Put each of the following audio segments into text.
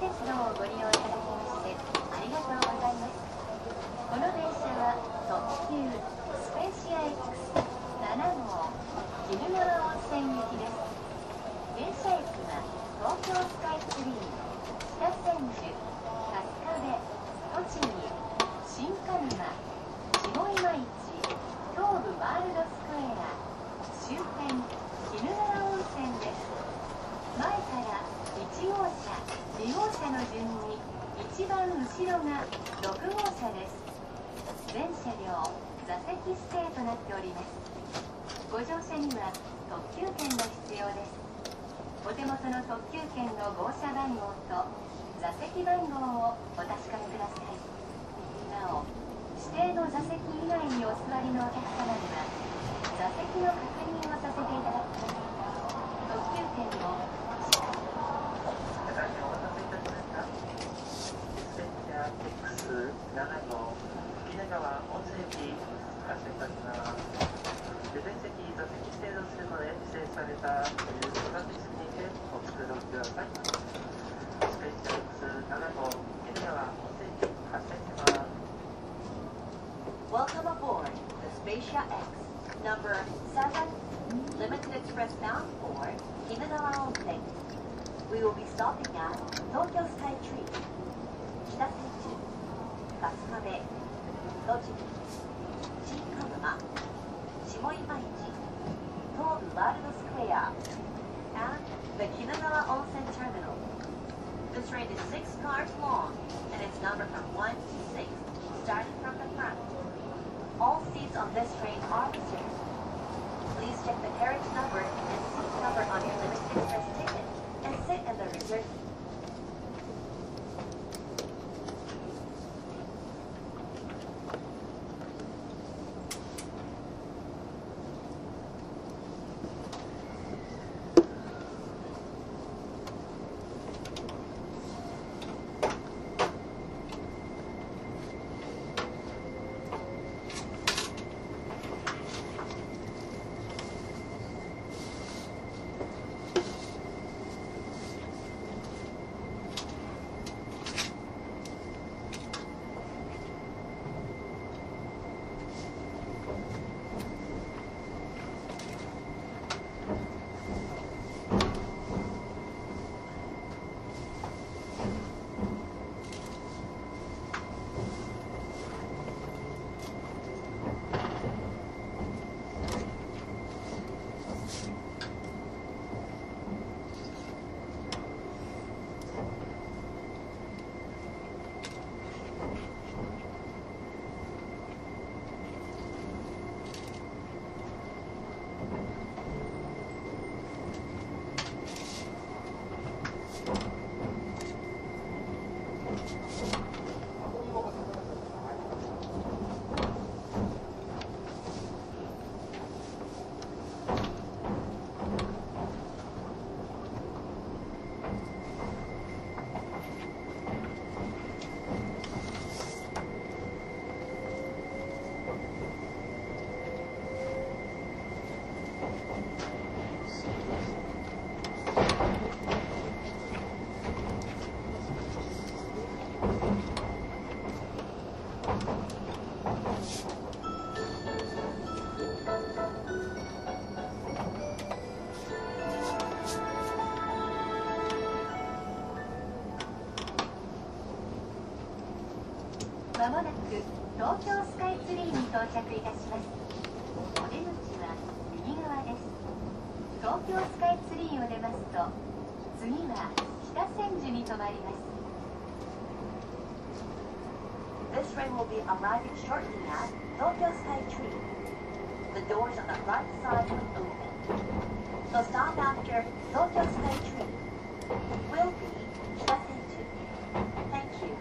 鉄道をご利用いただきましてありがとうございます。この電車は特急スペーシア X7 号鬼怒川温泉行きです。停車駅は東京スカイツリー、北千住、春日部、栃木、新鹿沼、下今市、東武ワールドスクエア、終点鬼怒川温泉です。前から1号車、2号車の順に一番後ろが6号車です。全車両座席指定となっております。ご乗車には特急券が必要です。お手元の特急券の号車番号と座席番号をお確かめください。なお、指定の座席以外にお座りのお客様には座席の確認をさせていただきます。特急券の X7 号鬼怒川温泉駅発車いたします。全席座席指定のするので指定されたという座席にてお作りください。スペーシア X7 号鬼怒川温泉駅発車します。 Welcome aboard the Spacia X number 7 limited express bound for Inagawa Onsen. We will be stopping at Tokyo Sky Tree, Kitasenju, Kasukabe, Tochigi, Shinkanuma, Shimoimaichi, Tobu World Square, and the Kinagawa Onsen Terminal. This train is 6 cars long and it's numbered from 1 to 6, starting from the front. All seats on this train are reserved. Please check the carriage number and seat number on your limited express ticket and sit in the reserved seat. まもなく東京スカイツリーに到着いたします。お出口は右側です。東京スカイツリーを出ますと次は北千住に停まります。 This train will be arriving shortly at Tokyo Sky Tree. The doors on the right side will open. The stop after Tokyo Sky Tree will be Kitasenju. Thank you.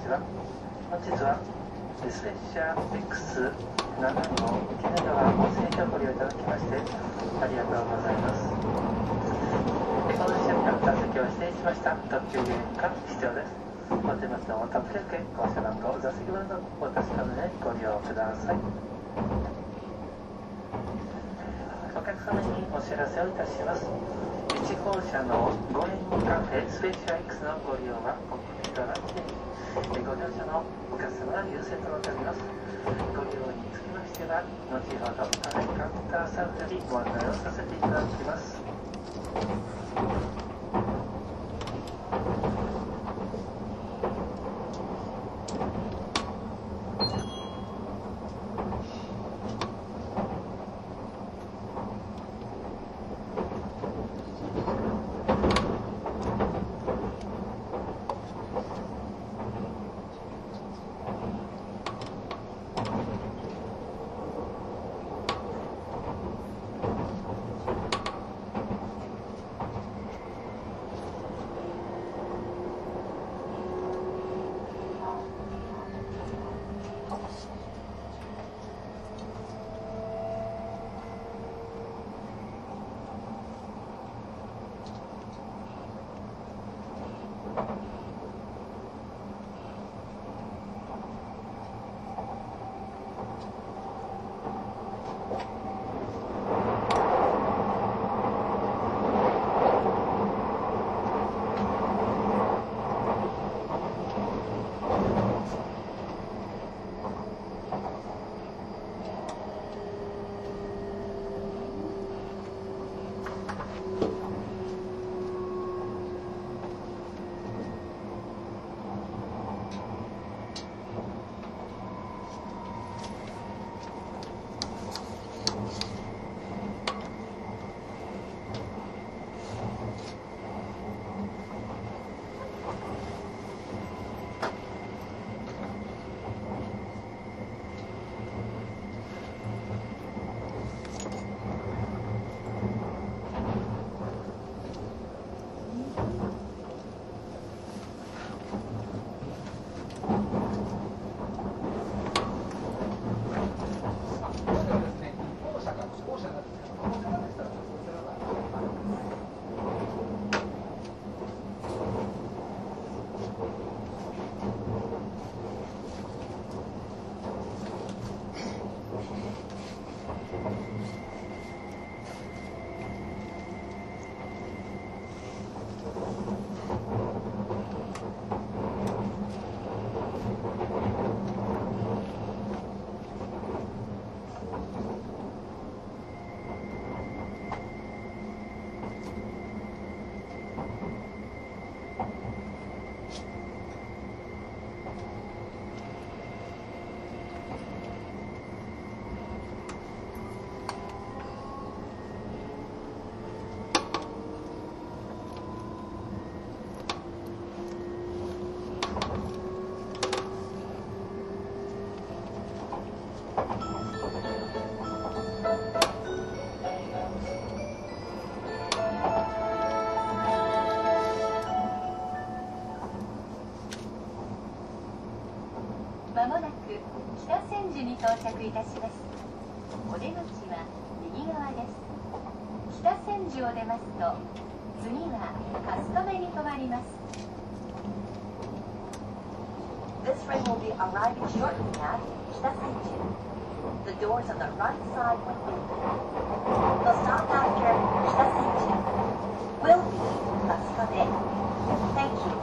は。本日はスペシャ X7 号鬼怒川温泉所をご利用いただきましてありがとうございます。この瞬間座席を指定しました特急券が必要です。お手元の特急券、降車番号、座席番号をお確かめでご利用ください。お客様にお知らせをいたします。1号車の5円カフェスペシャ X のご利用はお国となってご乗車のお客様が優先となっております。ご利用につきましては後ほどカウンターサービスよりご案内をさせていただきます。 まもなく北千住に到着いたします。お出口は右側です。北千住を出ますと次は春日部に停まります。 This train will be arriving shortly at Kitasenju. The doors on the right side will open. The stop after Kitasenju will be Kasukabe. Thank you.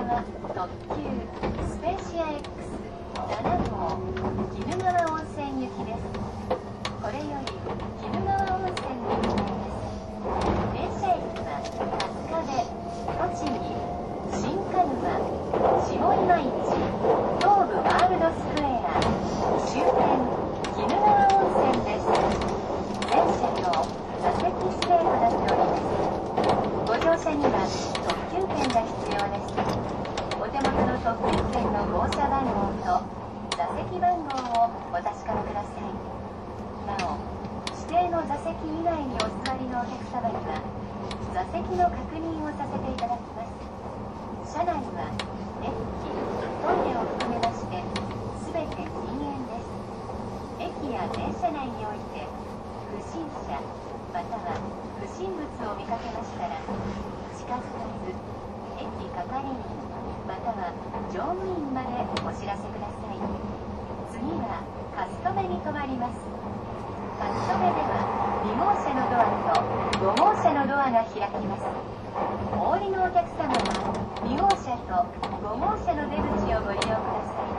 は特急スペーシア X7 号鬼怒川温泉行きです。これより鬼怒川温泉に向かいます。停車駅は春日部、栃木、新鹿沼、下今市、東武ワールドスクエア、終点鬼怒川温泉です。全車両座席指定となっております。ご乗車には特急券が必要です。お手元の特急券の号車番号と座席番号をお確かめください。なお、指定の座席以外にお座りのお客様には座席の確認をさせていただきます。車内はデッキ、トイレを含めまして全て禁煙です。駅や電車内において不審者または不審物を見かけましたら近づかず駅係員または乗務員までお知らせください。次はカストメに停まります。カストメでは2号車のドアと5号車のドアが開きます。お降りのお客様は2号車と5号車の出口をご利用ください。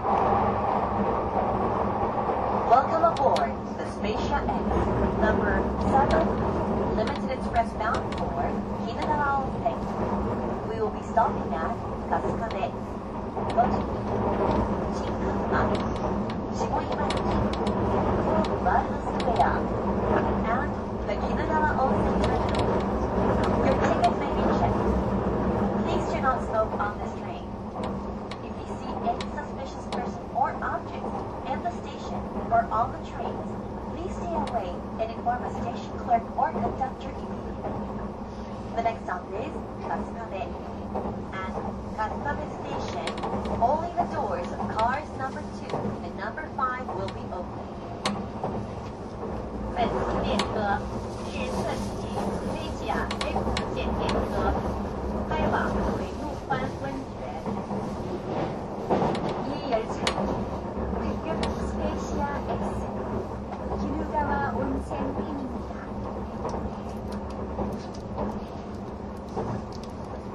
Welcome aboard the Spaceship X, number 7, limited express bound for Hinagawa Onsen. We will be stopping at Kasukabe, Tochigi, Shinkanuma, Shimoimachi, Kobe World Square, and the Hinagawa Onsen Terminal. Your tickets may be checked. Please do not smoke on this train. If you see any suspicious person or object in the station or on the trains, please stay away and inform a station clerk or conductor immediately. The next stop is Kasukabe. At Kasukabe Station, only the doors of cars number 2 and number 5 will be open. 本次列车是特急飞甲 X 线列车，开往水陆湾温泉。 이 열차는 특급 스페이시아 X 기누가와 온센 편입니다.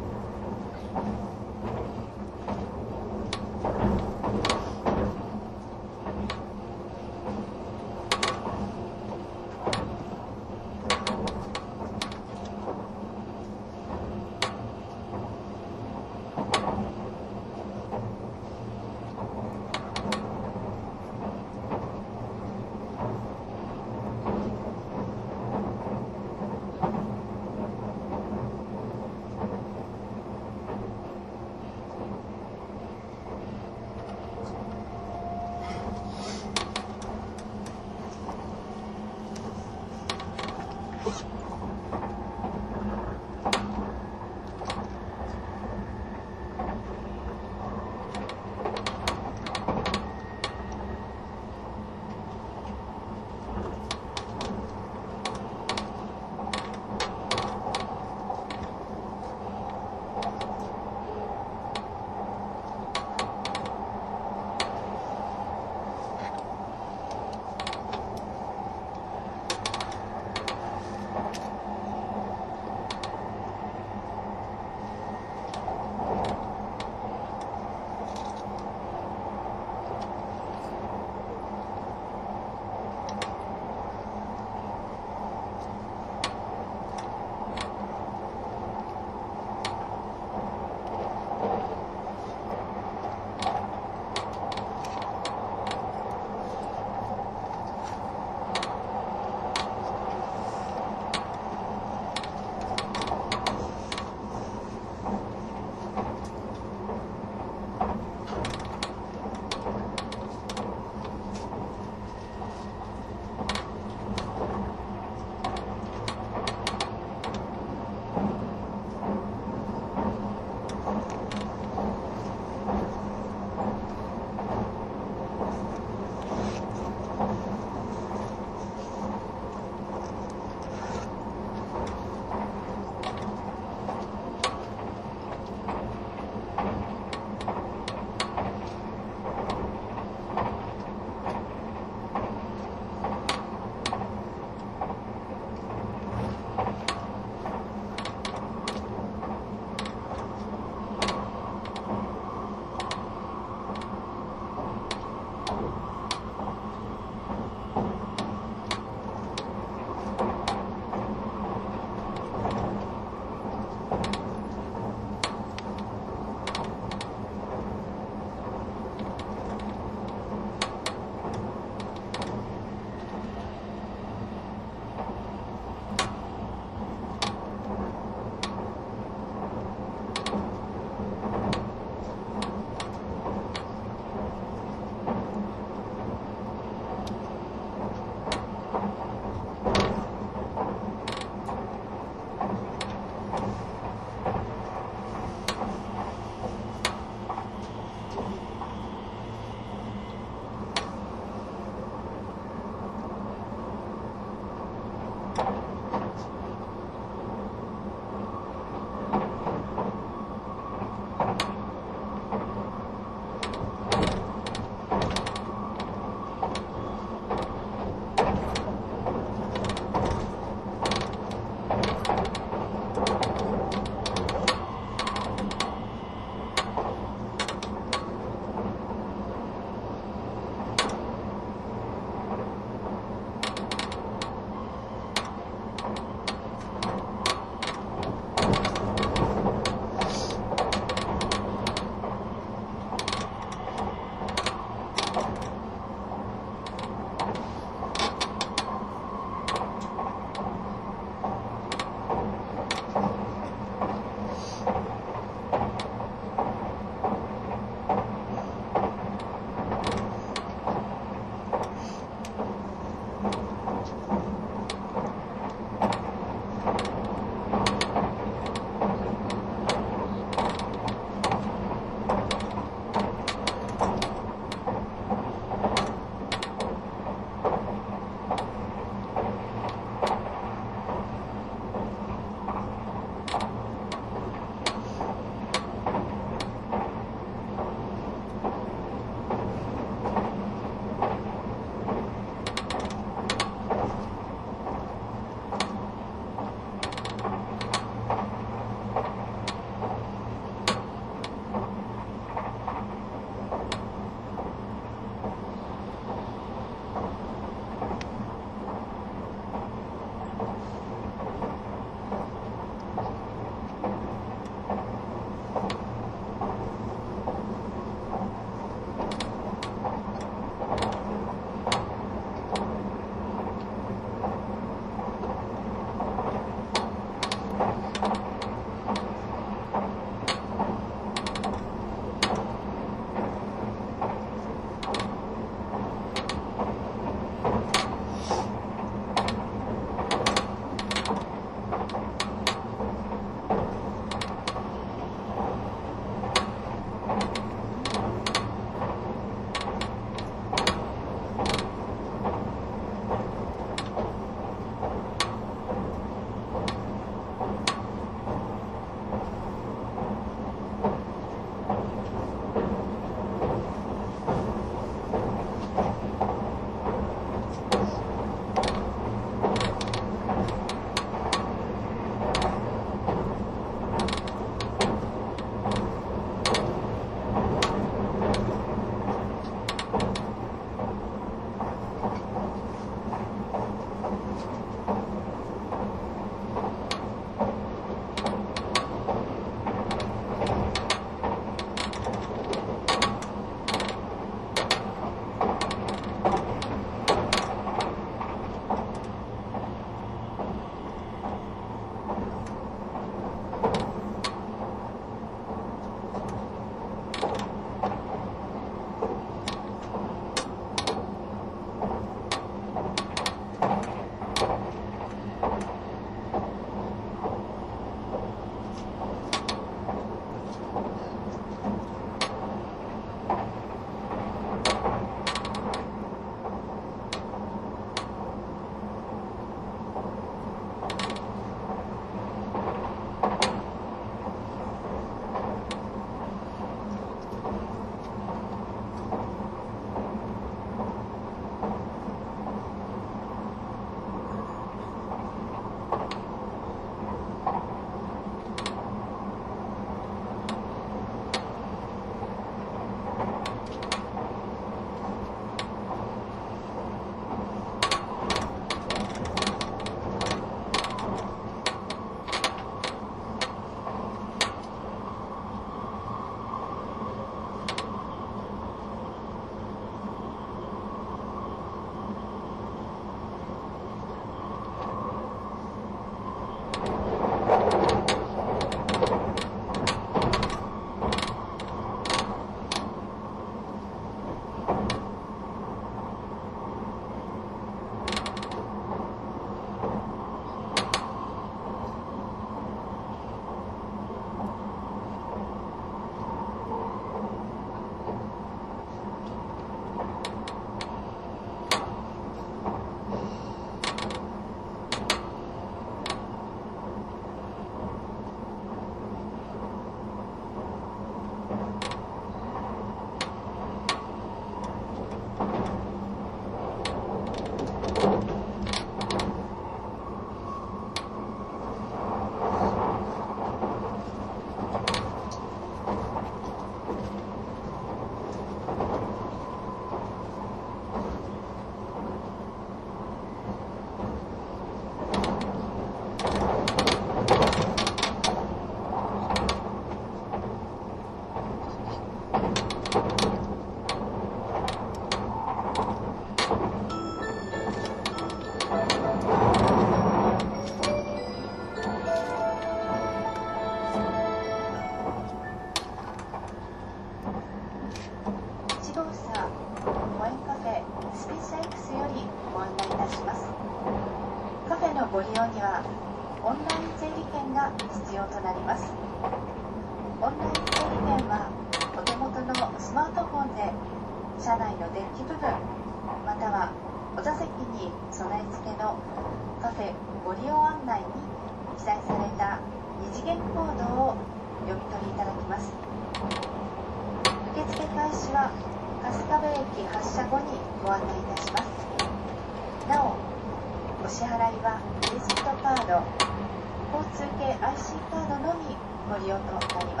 ご利用にはオンライン整理券が必要となります。オンライン整理券はお手元のスマートフォンで車内のデッキ部分またはお座席に備え付けのカフェご利用案内に記載された二次元コードを読み取りいただきます。受付開始は春日部駅発車後にご案内いたします。なおお支払いはクレジットカード、交通系 IC カードのみご利用となります。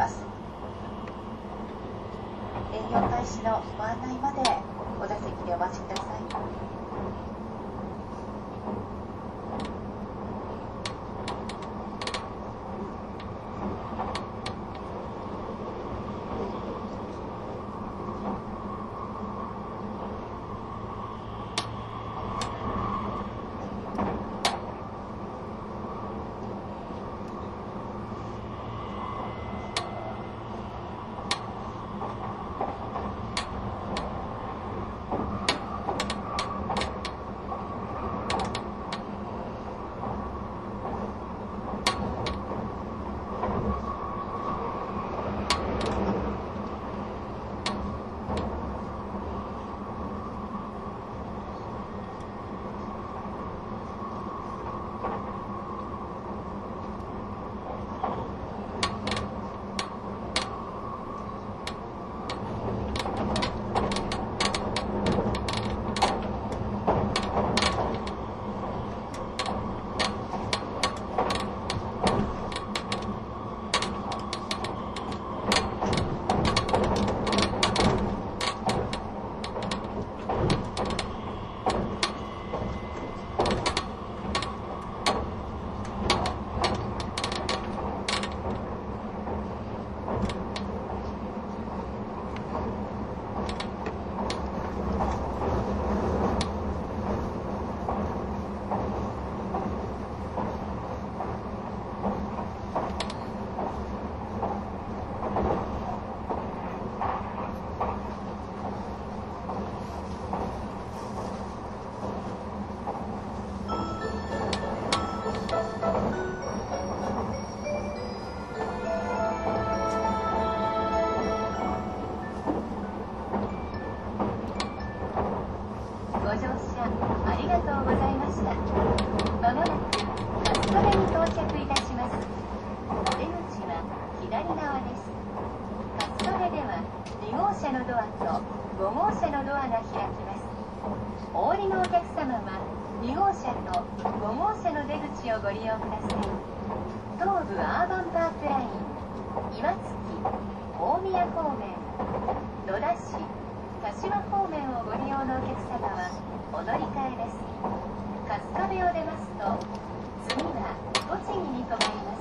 営業開始のご案内までお座席でお待ちください。ご利用ください。東武アーバンパークライン、岩槻、大宮方面、野田市、柏方面をご利用のお客様はお乗り換えです。春日部を出ますと、次は栃木に停まります。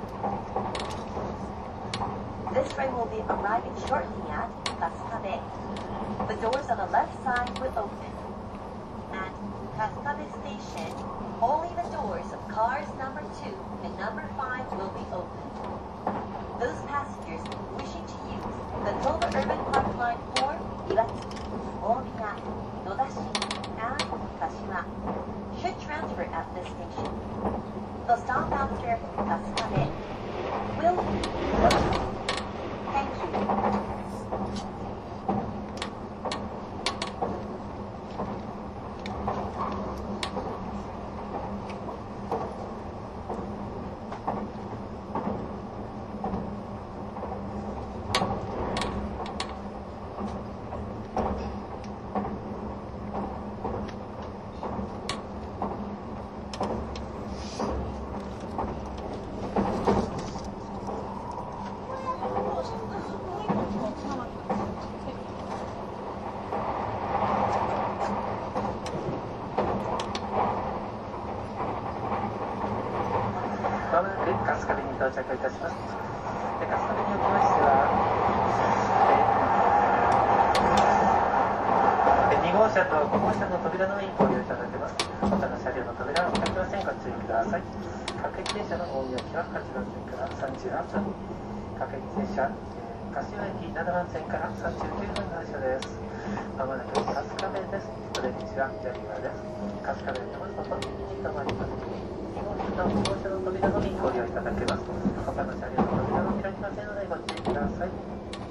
This train will be arriving shortly at Kasukabe. The doors on the left side will open. At Kasukabe Station, only the doors of cars number 2 and number 5 will be open. Those passengers wishing to use the Toba Urban Park Line for Iwatsuki, Omiya, Nodashi, and Kashima should transfer at this station. The stop after Kasukabe will be Tochi. Thank you. まもなく春日部に到着いたします。春日部におきましては、 車と5号車の扉の上にご利用いただけます。他の車両の扉はお開きませんが注意ください。各駅停車の大宮駅は8番線から38分。各駅停車、柏駅7番線から39分の発車です。まもなく春日部です。お出口は左側です。春日部に戻すこと右側にあります。2号車と5号車の扉のみご利用いただけます。他の車両の扉は開きませんのでご注意ください。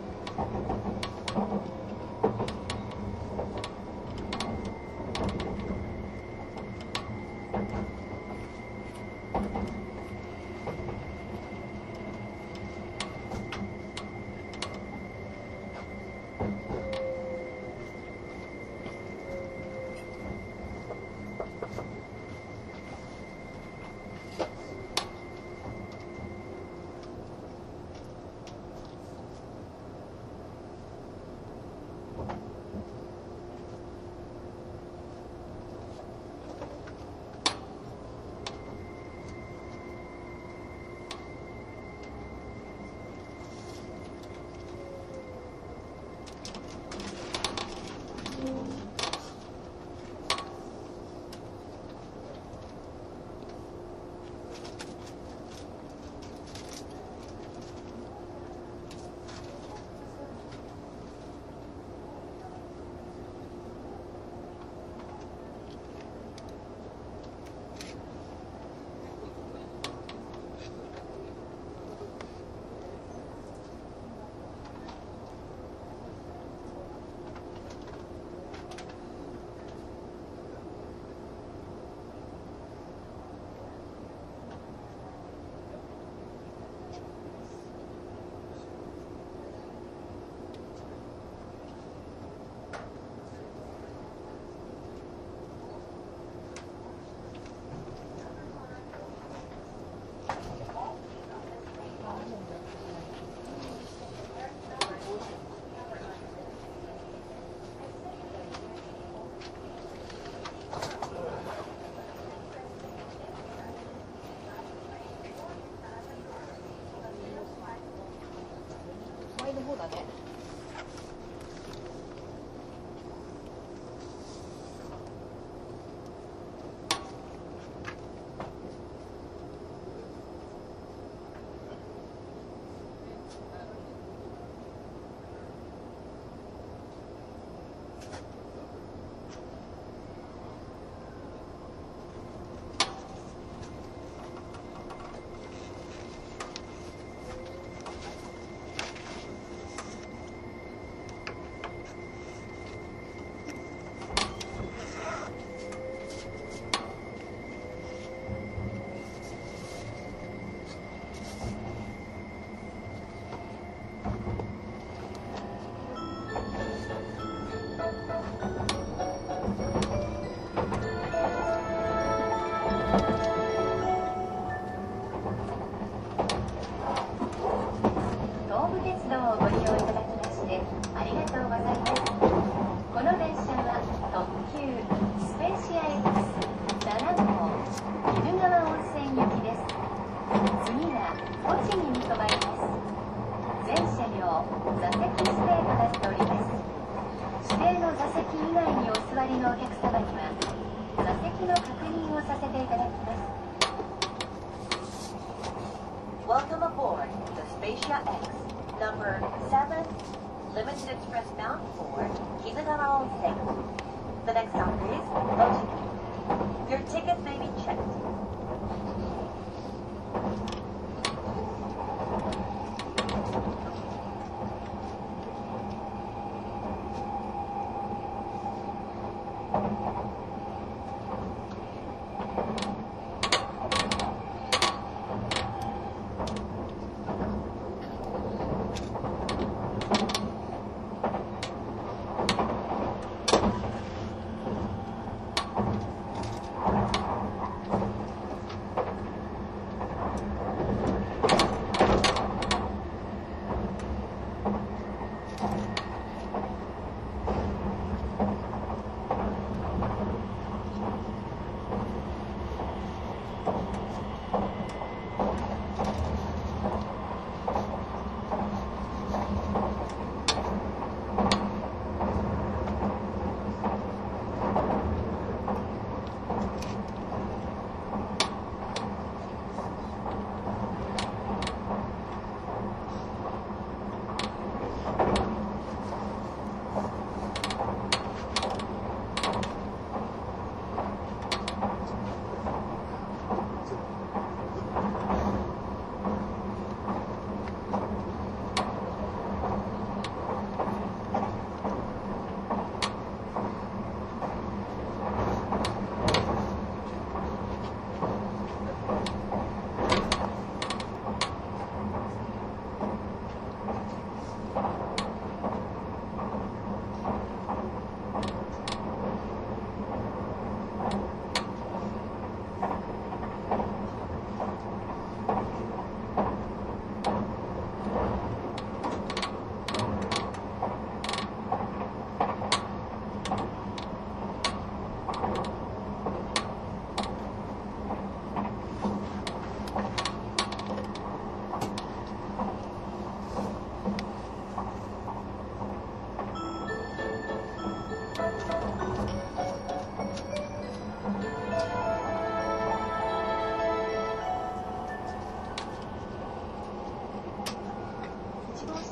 の方だね。 Welcome aboard the Spacia X, number 7, Limited Express bound for Kinugawa Onsen. The next stop is Oji. Your ticket may be checked.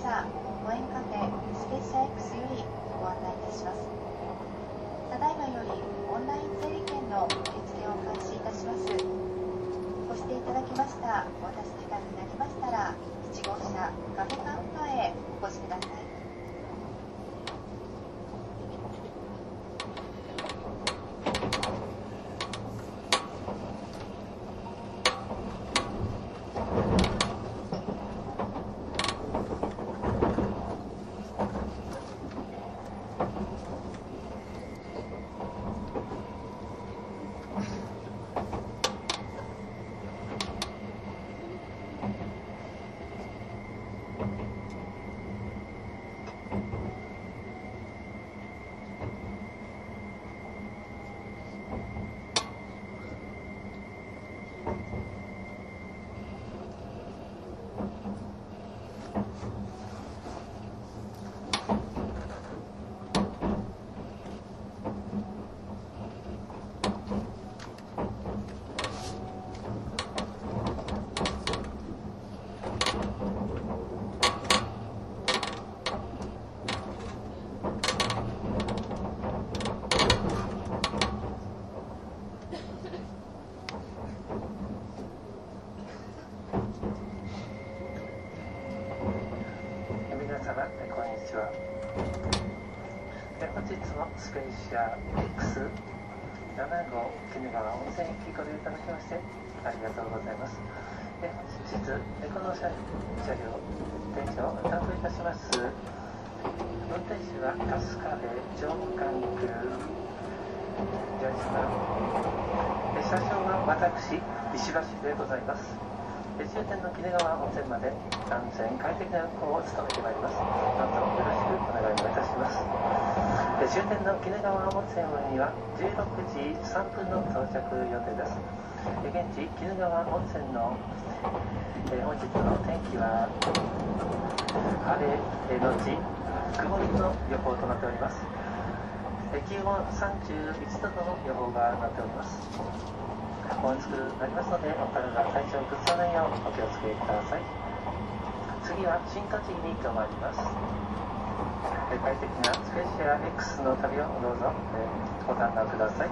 座ご縁カフェスペーシア X よりご案内いたします。ただいまよりオンライン整理券の受付を開始いたします。ご指定いただきましたお渡し時間になりましたら1号車カフェカウンターへお越しください。 本日もスペーシア X7 号鬼怒川温泉駅ご利用いただきましてありがとうございます。本日この車両電車を担当いたします運転手は春日部上官空ジャージマン車掌は私石橋でございます。終点の鬼怒川温泉まで安全快適な運行を務めてまいります。どうぞよろしくお願いをいたします。終点の鬼怒川温泉には16時3分の到着予定です。現地鬼怒川温泉の本日の天気は晴れのち曇りの予報となっております。気温31度の予報がなっております。お暑くなりますのでお体体調を崩さないようお気をつけください。次は新栃木に停まります。快適なスペーシア X の旅をどうぞご堪能ください。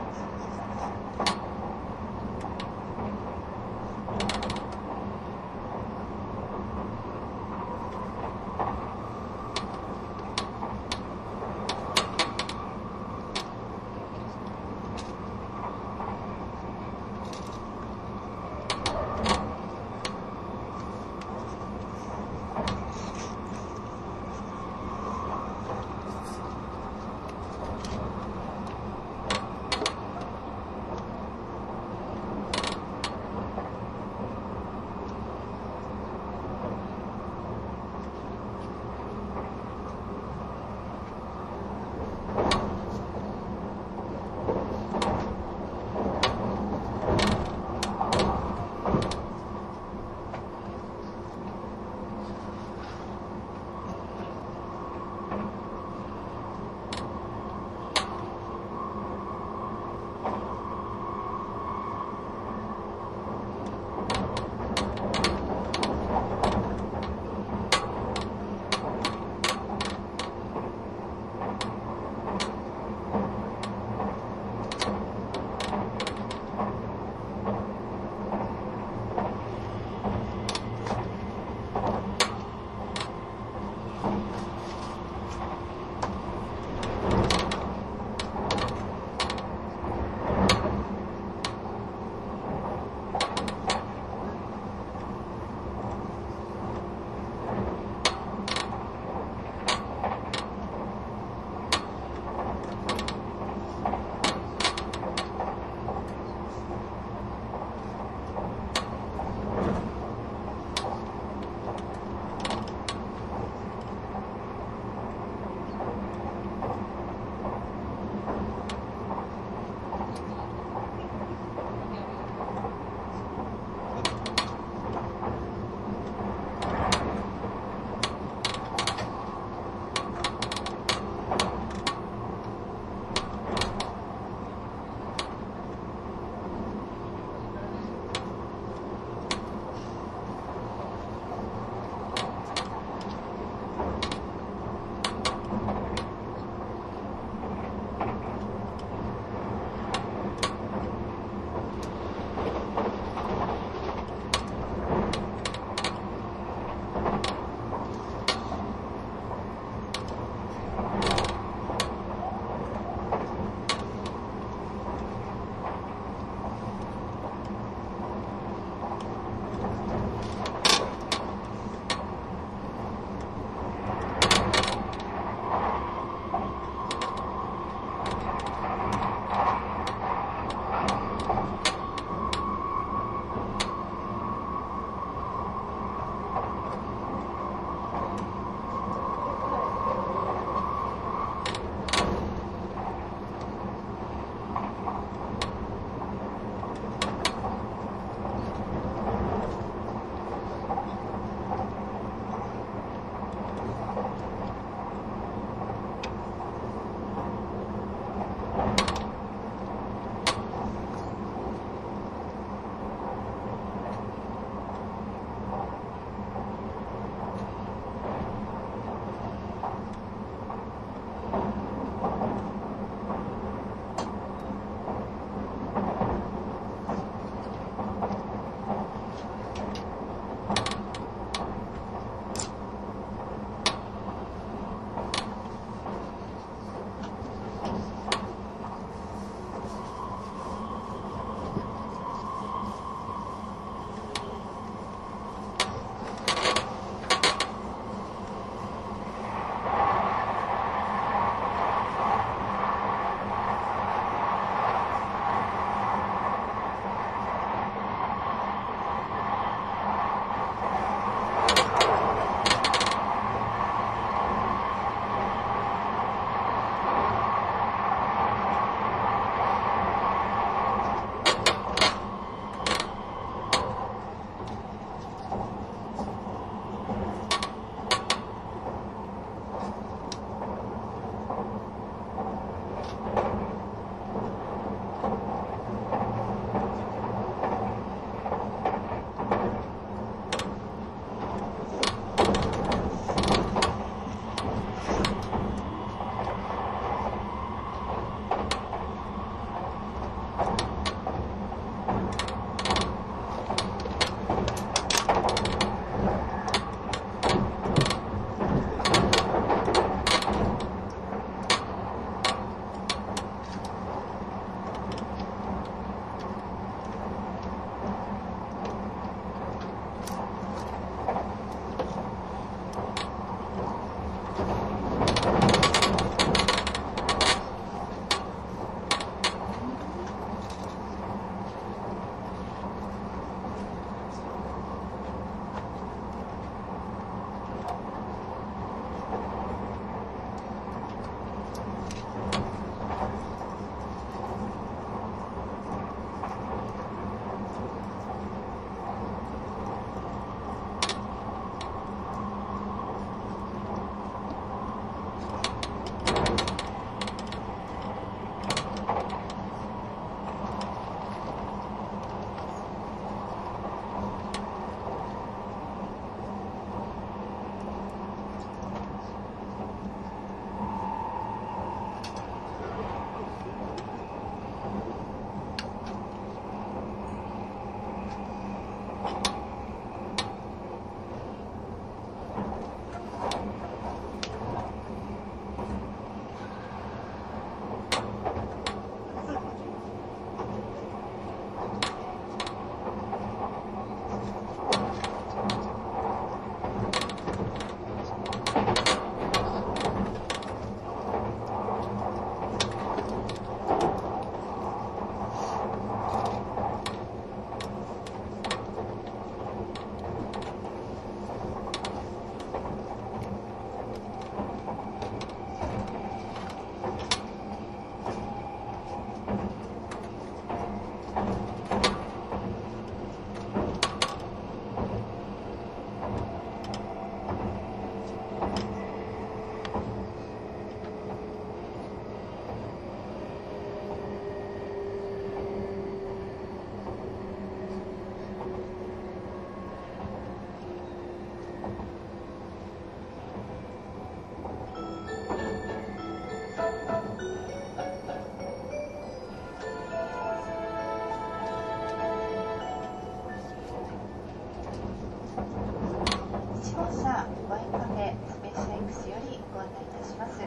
ご案内いたします。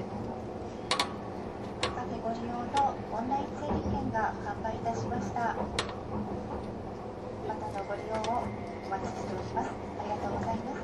カフェご利用のオンライン整理券が完売いたしました。またのご利用をお待ちしております。ありがとうございます。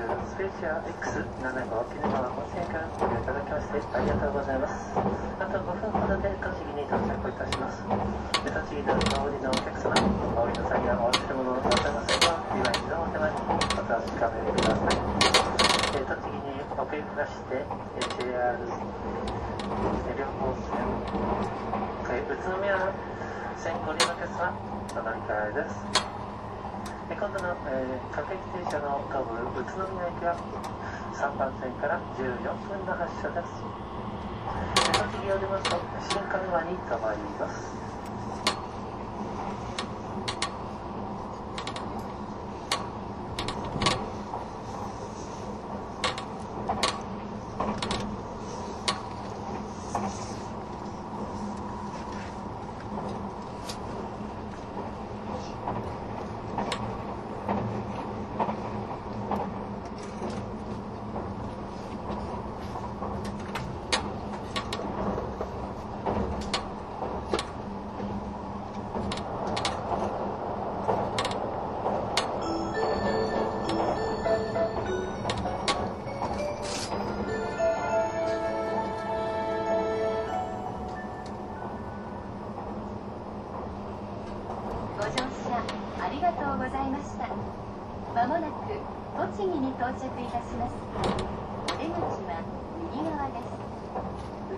スペーシア X7 号鬼怒川温泉からご利用いただきましてありがとうございます。あと5分ほどで栃木に到着いたします。栃木のお降りのお客様、お降りの際にはお忘れ物をなさいませんが、今一度お手前にお確かめください。栃木にお送りまして JR 両方線宇都宮線ご利用のお客様、お乗り換えです。今度の各駅停車の東武宇都宮駅は3番線から14分の発車です。栃木を出ますと新鹿沼に停まります。 まもなく栃木に到着いたします。お出口は右側です。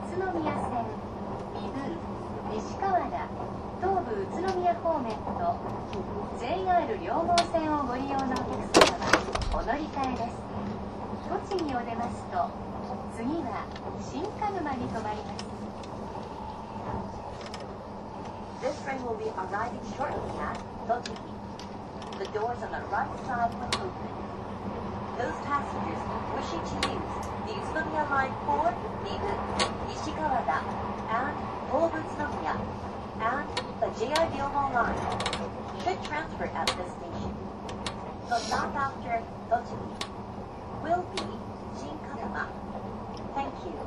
宇都宮線、美宮、西川原、東武宇都宮方面と JR 両毛線をご利用のお客様はお乗り換えです。栃木を出ますと次は新鹿沼に停まります。 This train will be arriving shortly at Tochigi. The doors on the right side will open. Those passengers wishing to use the Utsunomiya Line for Mibu, Nishikawara, and Tobu Utsunomiya, and the JR Ryomo Line should transfer at this station. The stop after Tochigi will be Shinkanuma. Thank you.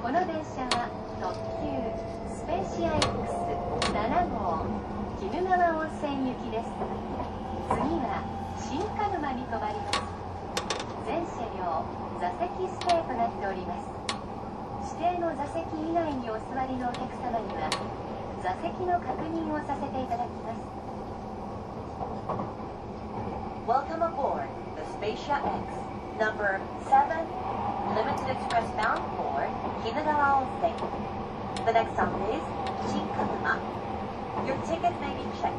この電車は特急スペーシア X7 号鬼怒川温泉行きです。次は新鹿沼に停まります。全車両座席指定となっております。指定の座席以外にお座りのお客様には座席の確認をさせていただきます。 Welcome aboard the Spaceship X, number 7, limited express bound for Kinugawa Onsen. The next stop is Shinkanuma. Your ticket may be checked.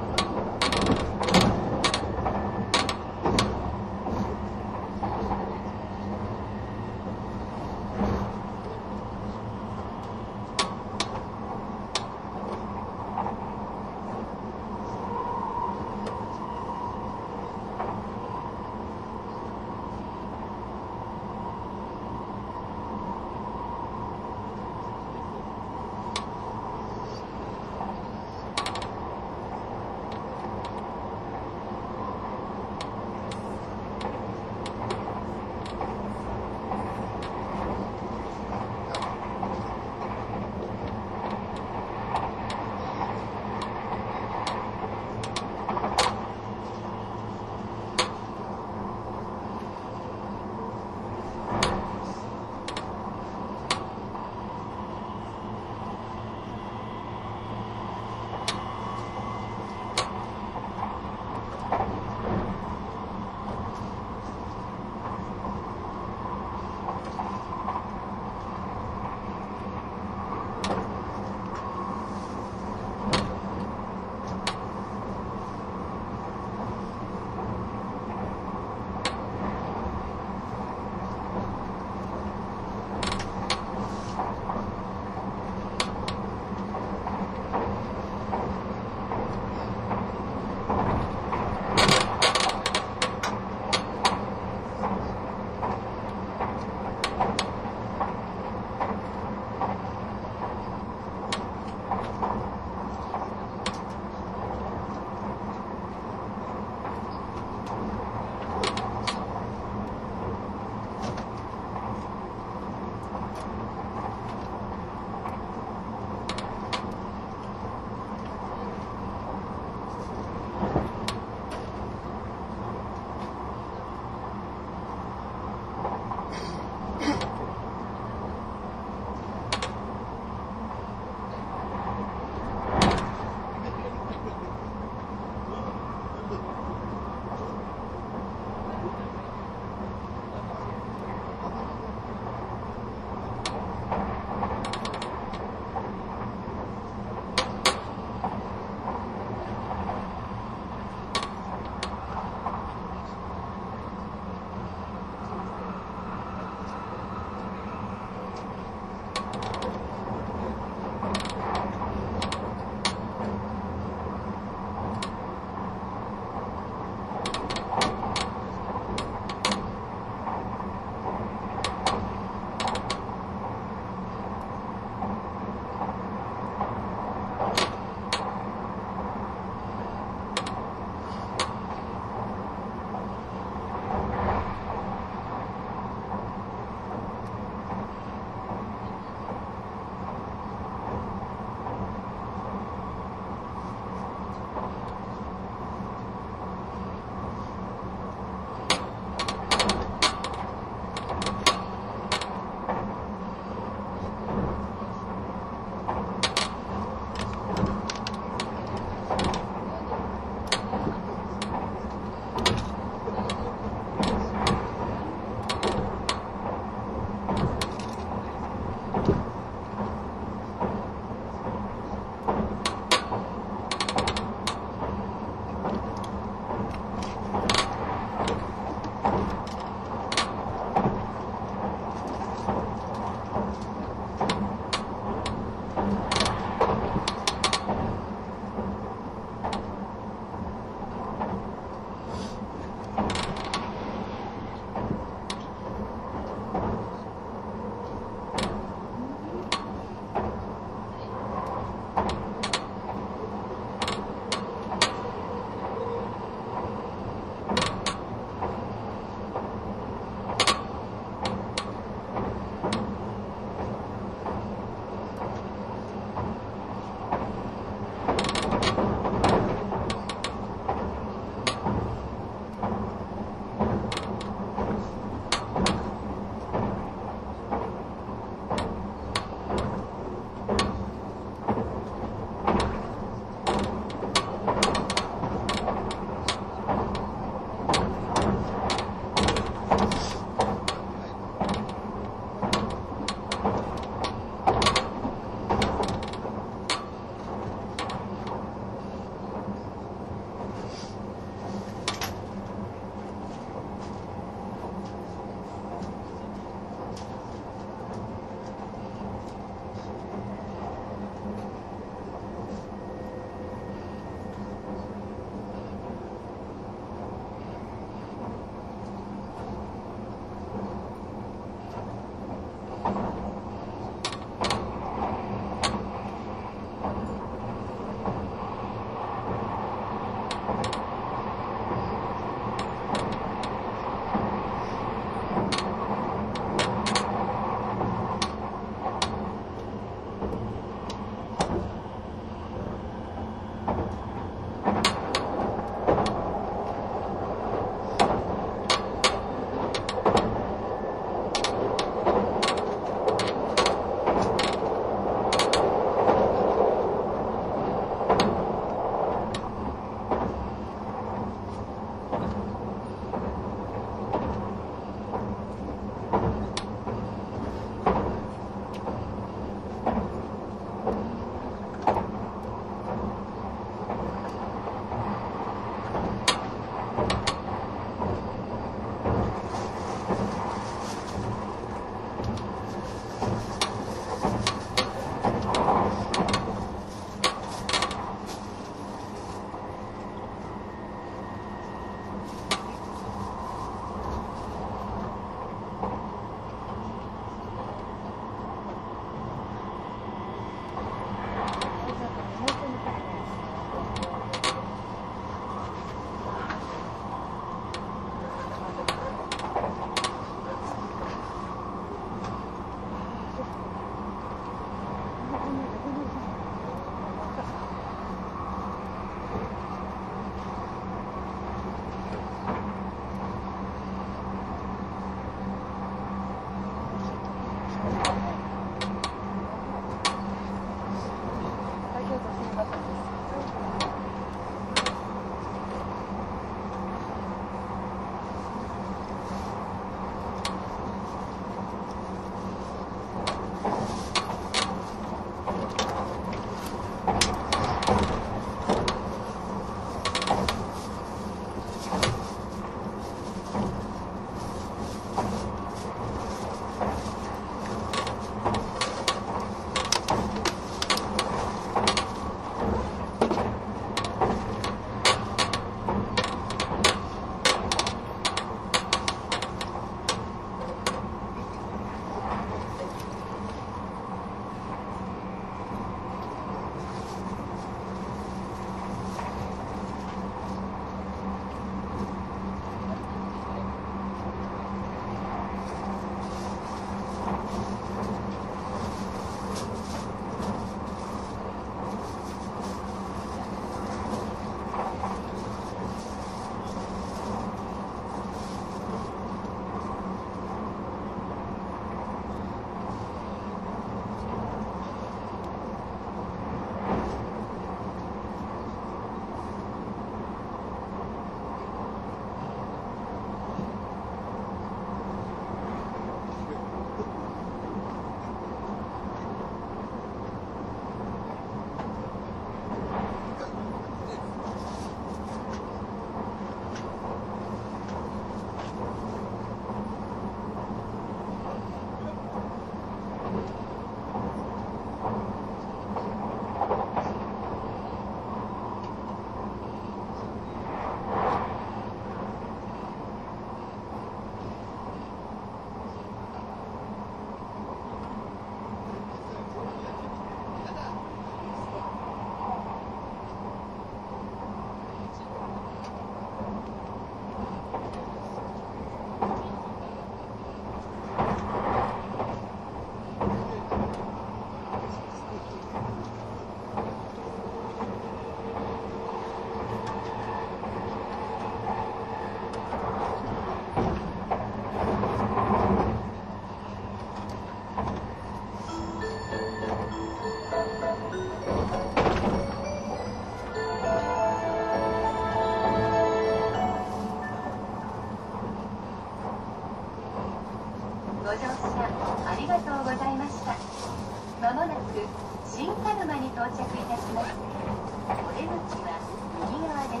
ご乗車ありがとうございました。まもなく新鹿沼に到着いたします。お出口は右側です。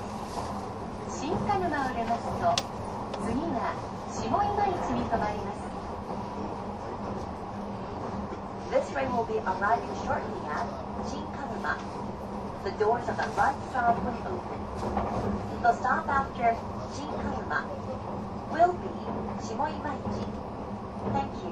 新鹿沼を出ますと、次は下今市に停まります。 This train will be arriving shortly at Shinkanuma. The doors on the right side will open. The stop after Shinkanuma will be Shimoimaichi. Thank you.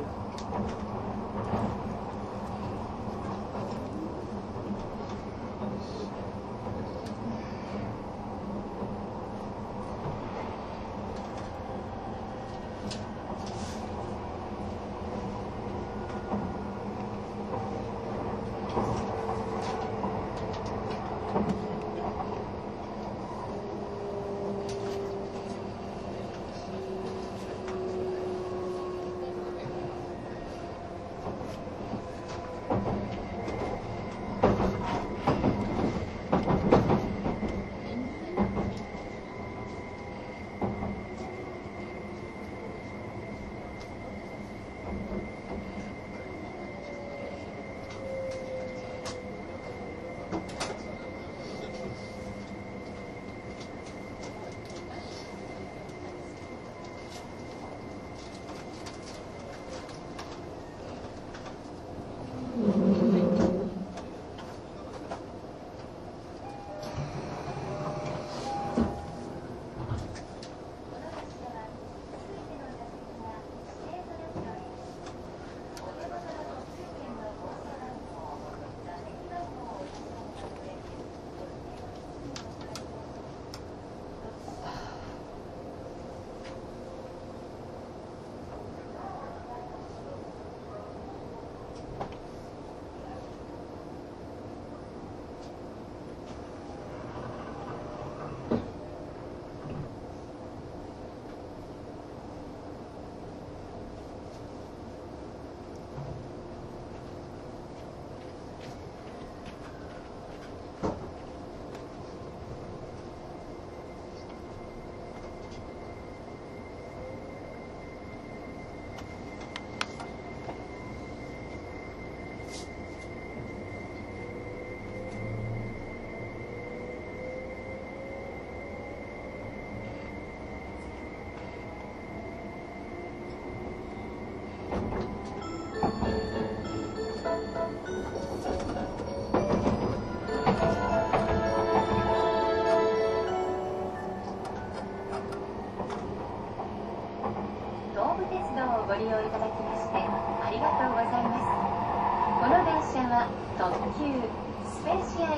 ご利用いただきましてありがとうございます。この電車は特急スペーシア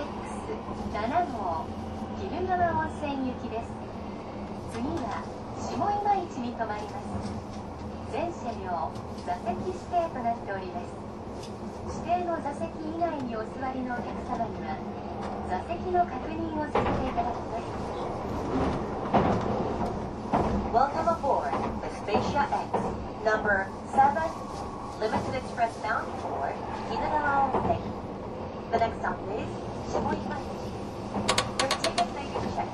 X7 号鬼怒川温泉行きです。次は下今市に停まります。全車両座席指定となっております。指定の座席以外にお座りのお客様には座席の確認をさせていただきます。 Welcome aboard the Spacia X number 7 Limited Express bound for Kinagawa Onsen. The next stop is Shimoimaichi. Your ticket may be checked.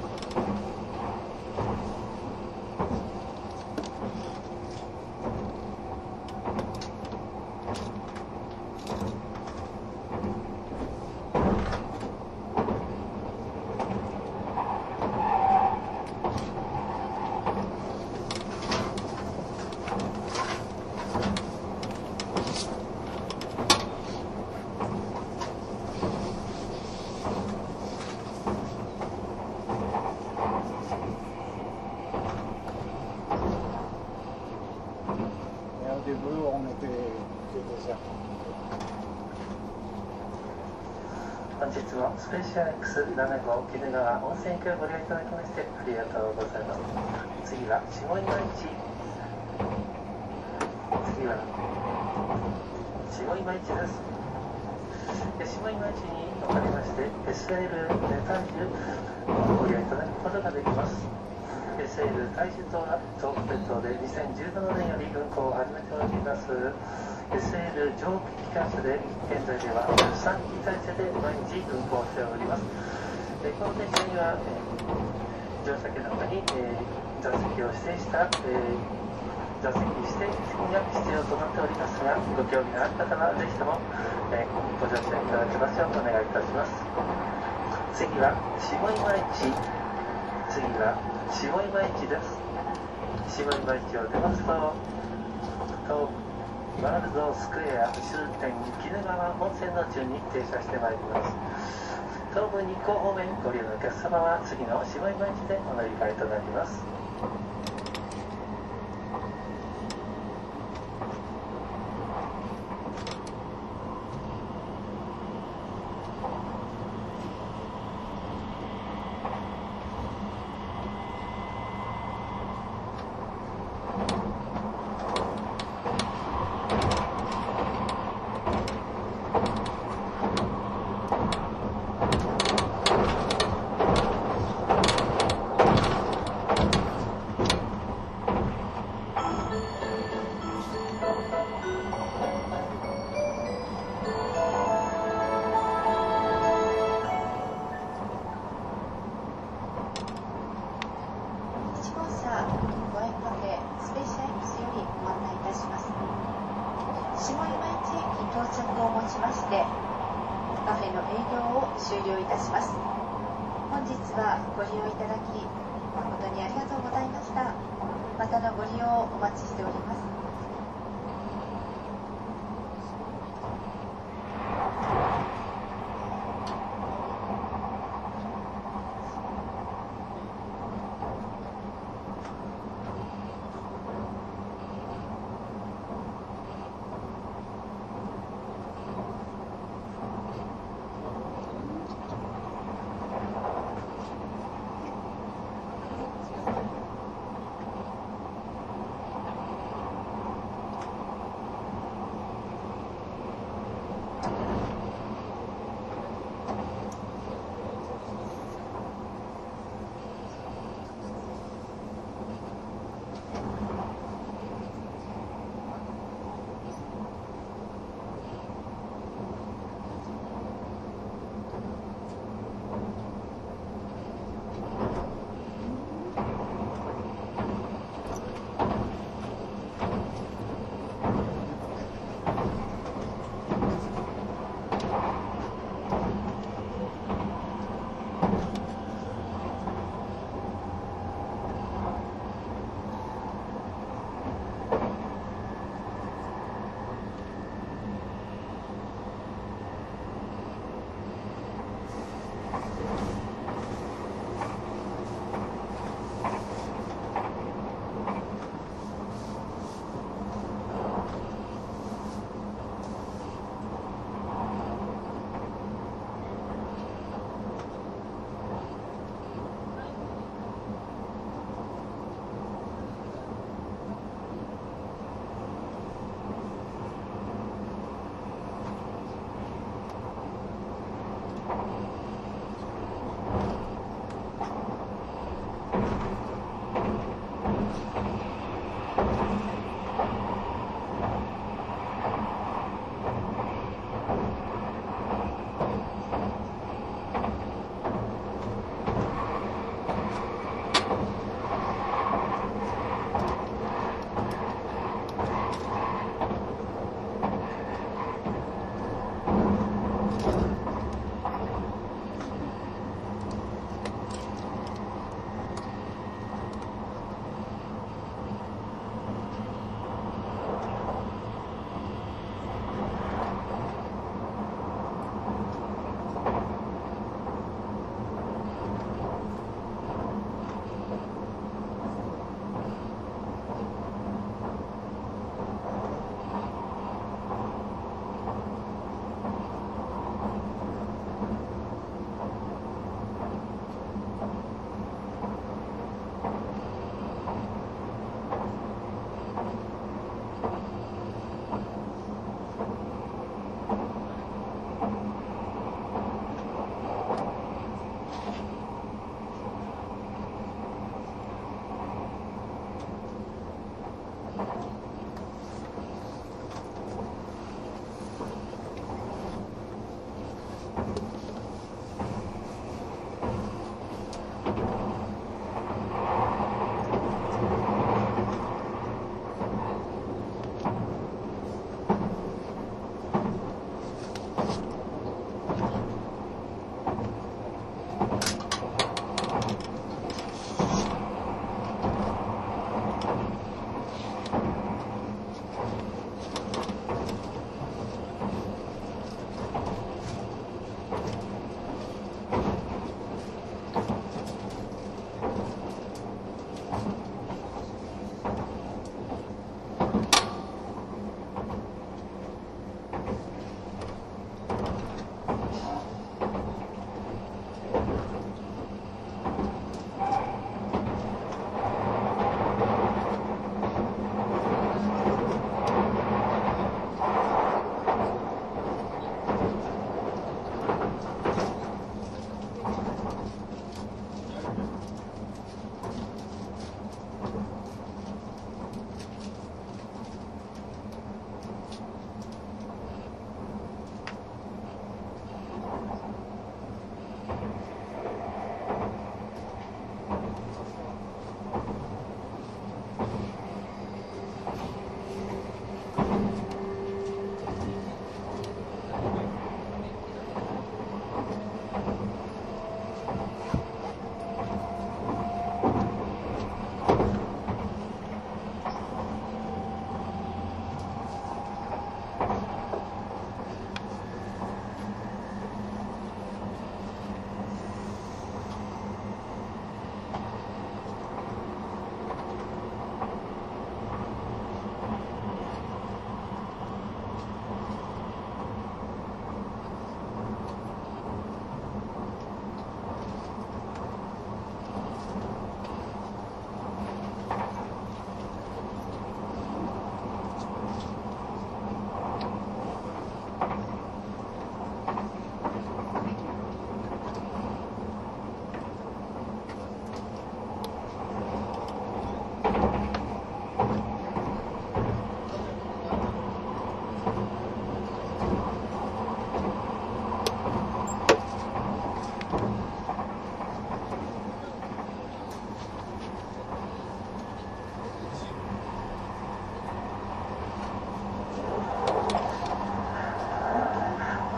Au début, on était déjà. 本日もスペーシア X7 号鬼怒川温泉行きをご利用いただきましてありがとうございます。次は下今市。次は下今市です。下今市におかれまして SL ネタジュをご利用いただくことができます。SL 大樹島は東北鉄道で2017年より運行を始めております SL 蒸気機関車で現在では3機体制で毎日運行しております。この電車には、乗車券の中に、座席を指定した、座席指定席が必要となっておりますが、ご興味のある方はぜひとも、ご乗車いただけますようお願いいたします。次は下今市、次は下今市です。下今市を出ますと、ワールドスクエア終点鬼怒川温泉の中に停車してまいります。東武日光方面ご利用のお客様は次の下今市でお乗り換えとなります。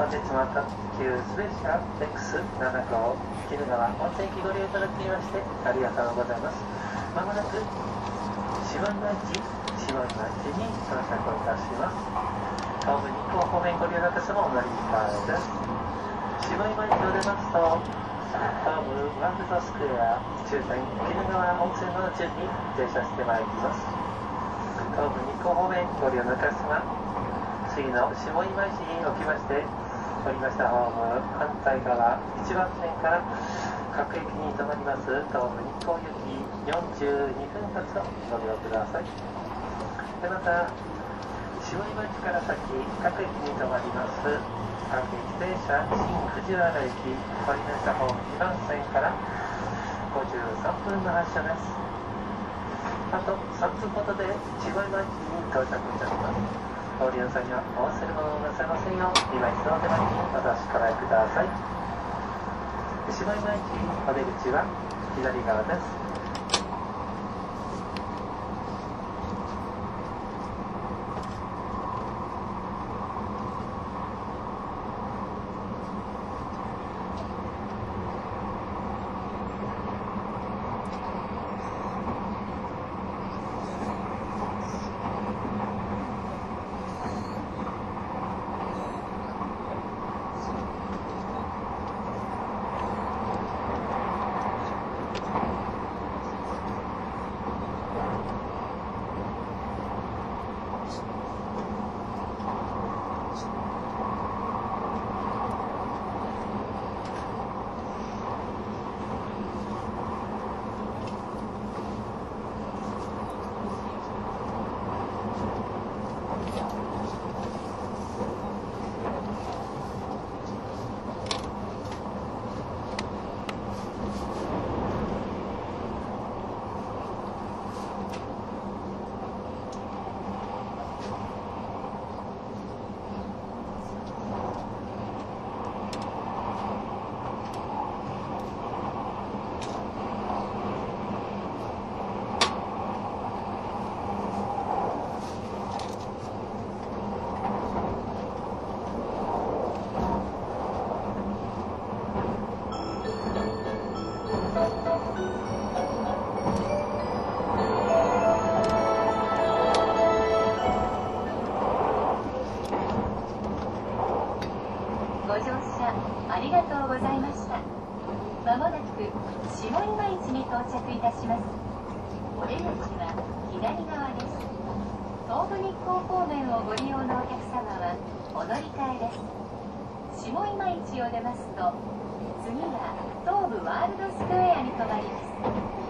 日も特急スペシャル X7 号鬼怒川温泉駅ご利用いただきましてありがとうございます。まもなく下今市に到着をいたします。東武日光方面ご利用の方もお乗り換えです。下今市を出ますと東武ワールドスクエア終点鬼怒川温泉の順に停車してまいります。東武日光方面ご利用の方様、次の下今市におきまして降りましたホーム反対側1番線から各駅に停まります東武日光行き42分発をご利用ください。でまた下今市から先各駅に停まります各駅停車新藤原駅降りましたホーム2番線から53分の発車です。あと3分ほどで下今市に到着いたします。お利用際にはお忘れ物をなさいませんよう今一度お手前にお確かめください。下今市お出口は左側です。 ご乗車ありがとうございました。まもなく下今市に到着いたします。お出口は左側です。東武日光方面をご利用のお客様はお乗り換えです。下今市を出ますと次は東武ワールドスクエアに停まります。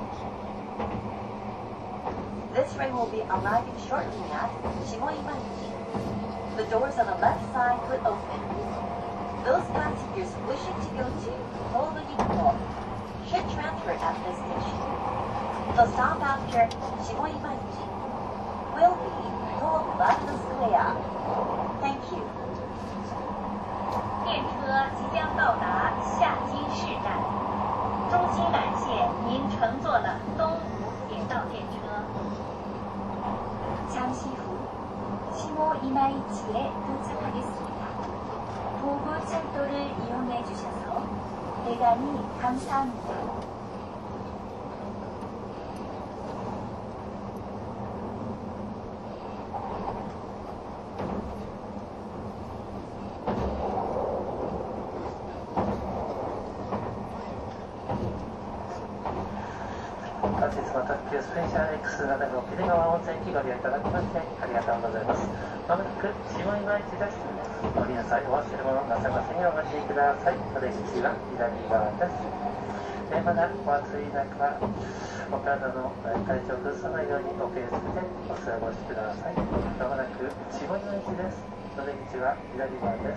This train will be arriving shortly at Shimoimachi. The doors on the left side will open. Those passengers wishing to go to Tobu Nikko should transfer at this station. The stop after Shimoimachi will be Tobu Warudo Square. Thank you. 电车即将到达下津市站，衷心感谢您乘坐了东武铁道电车。 잠시 후下今市에 도착하겠습니다. 도부 철도를 이용해 주셔서 대단히 감사합니다. 本日の特急スペシャル X7 号鬼怒川温泉駅ご利用いただきましてありがとうございます。まもなく下今市です。お降りの際お忘れ物なさいませんようお待ちください。お出口は左側です。まだお暑い中お体の体調を崩さないようにお気をつけてお過ごしください。まもなく下今市です。お出口は左側です。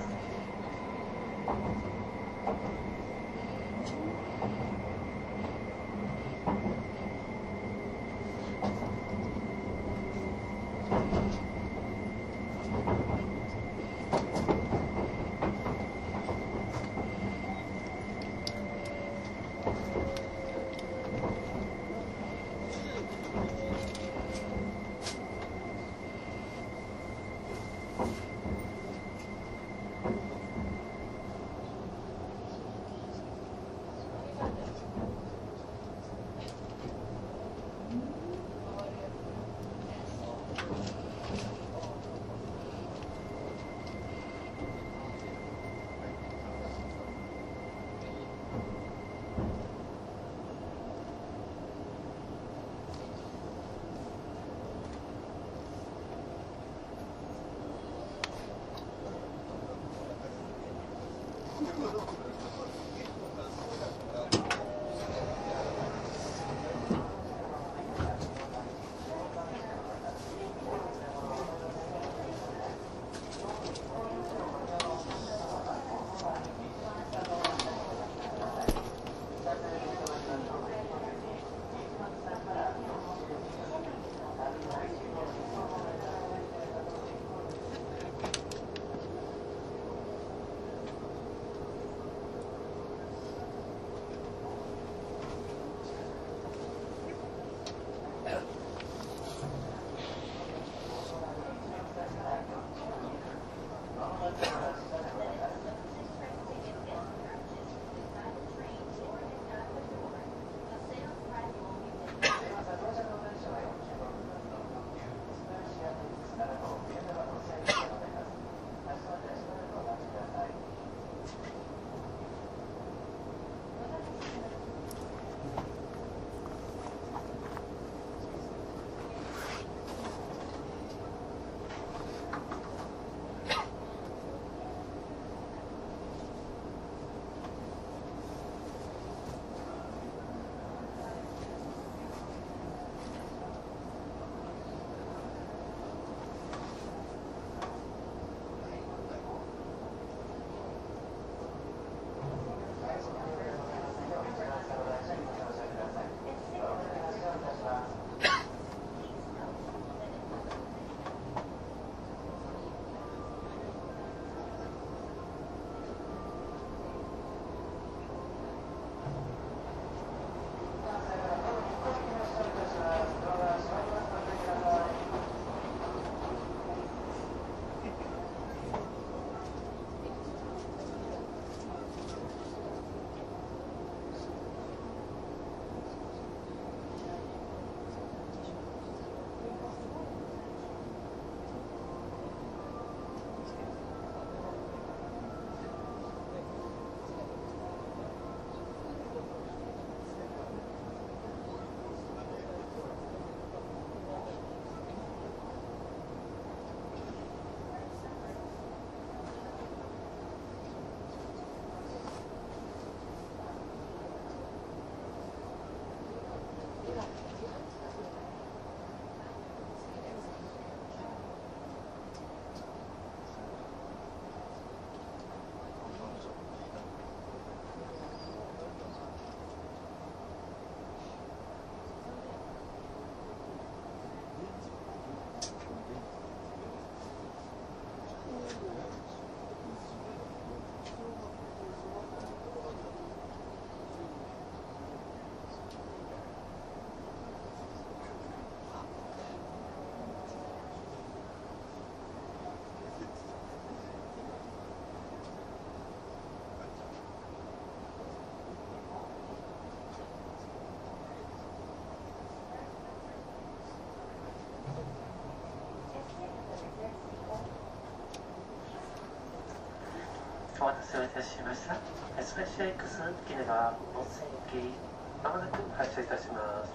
お待たせをいたしました。スペシア X 鬼怒川温泉行き、まもなく発車いたします。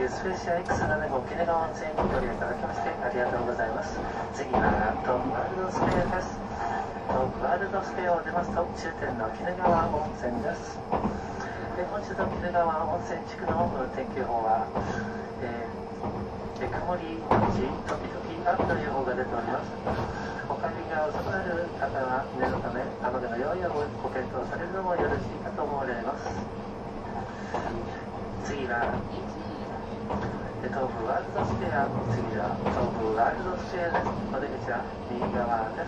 スペーシア X7 号鬼怒川温泉にご利用いただきましてありがとうございます。次は東武ワールドスペアです。東武ワールドスペアを出ますと終点の鬼怒川温泉です。本日の鬼怒川温泉地区の天気予報は、曇りのち時々雨の予報が出ております。お帰りが遅くなる方は念のため雨具の用意をご検討されるのもよろしいかと思われます。次は東武ワールドスペア、次は東武ワールドスペアです。お出口は右側です。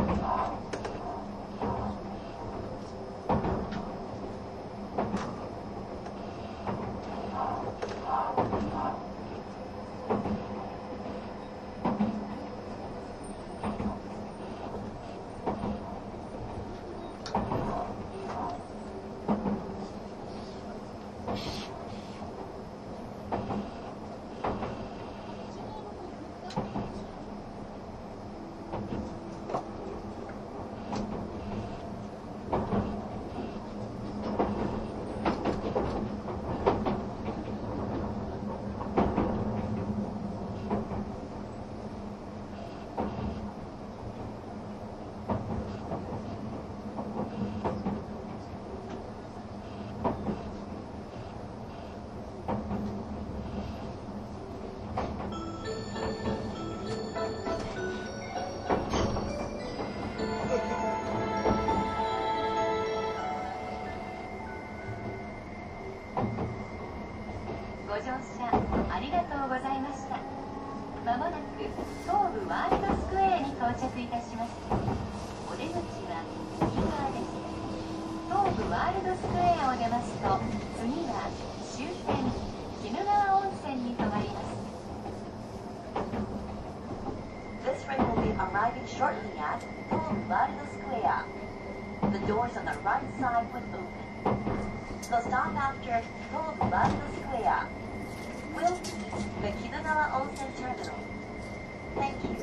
ご乗車ありがとうございました。まもなく東武ワールドスクエアに到着いたします。お出口は右側です。東武ワールドスクエアを出ますと、次は終点鬼怒川温泉に停まります。 This train will be arriving shortly at Tobu Warudo Square. The doors on the right side will open. The stop after Tobu Warudo Square will be the Kinugawa Onsen Terminal. Thank you.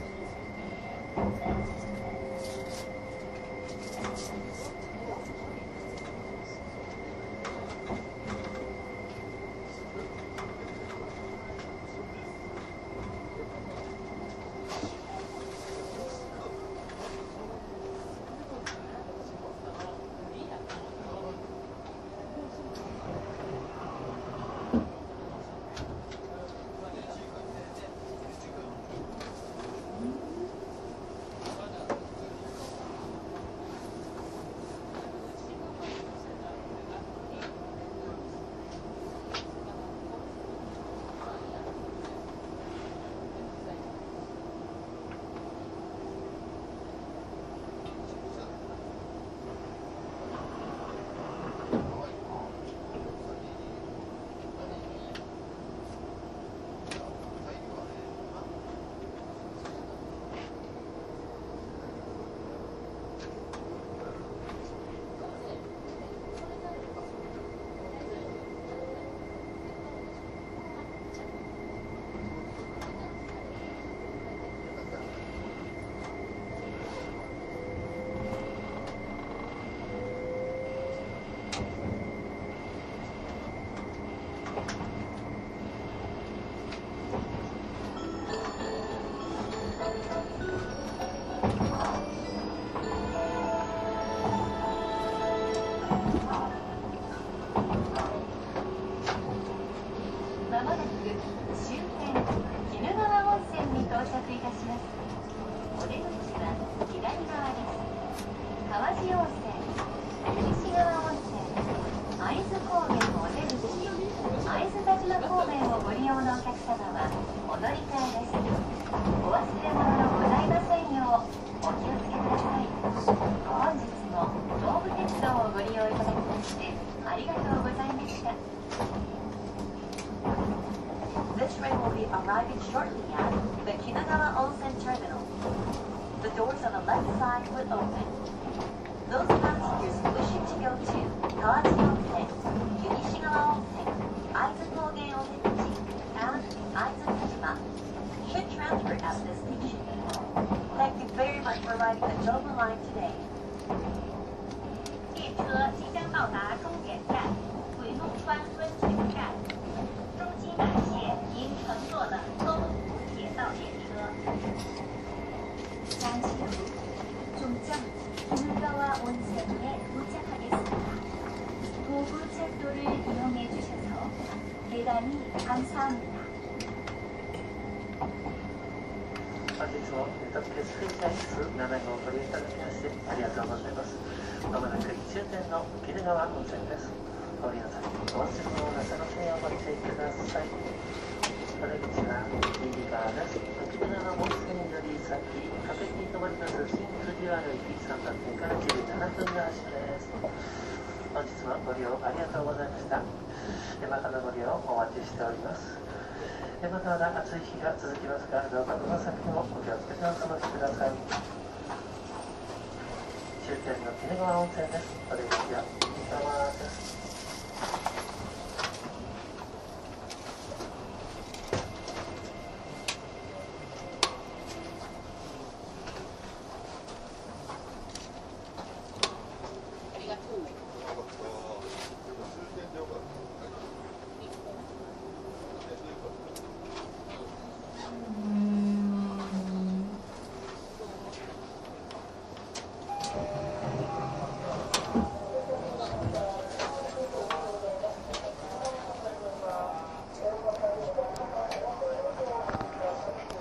新 JR 駅3番線から17分の足です。本日もご利用ありがとうございました。またのご利用お待ちしております。まだまだ暑い日が続きますが、どうかこの先もお気をつけてお過ごしください。終点の鬼怒川温泉です。お出口は右側です。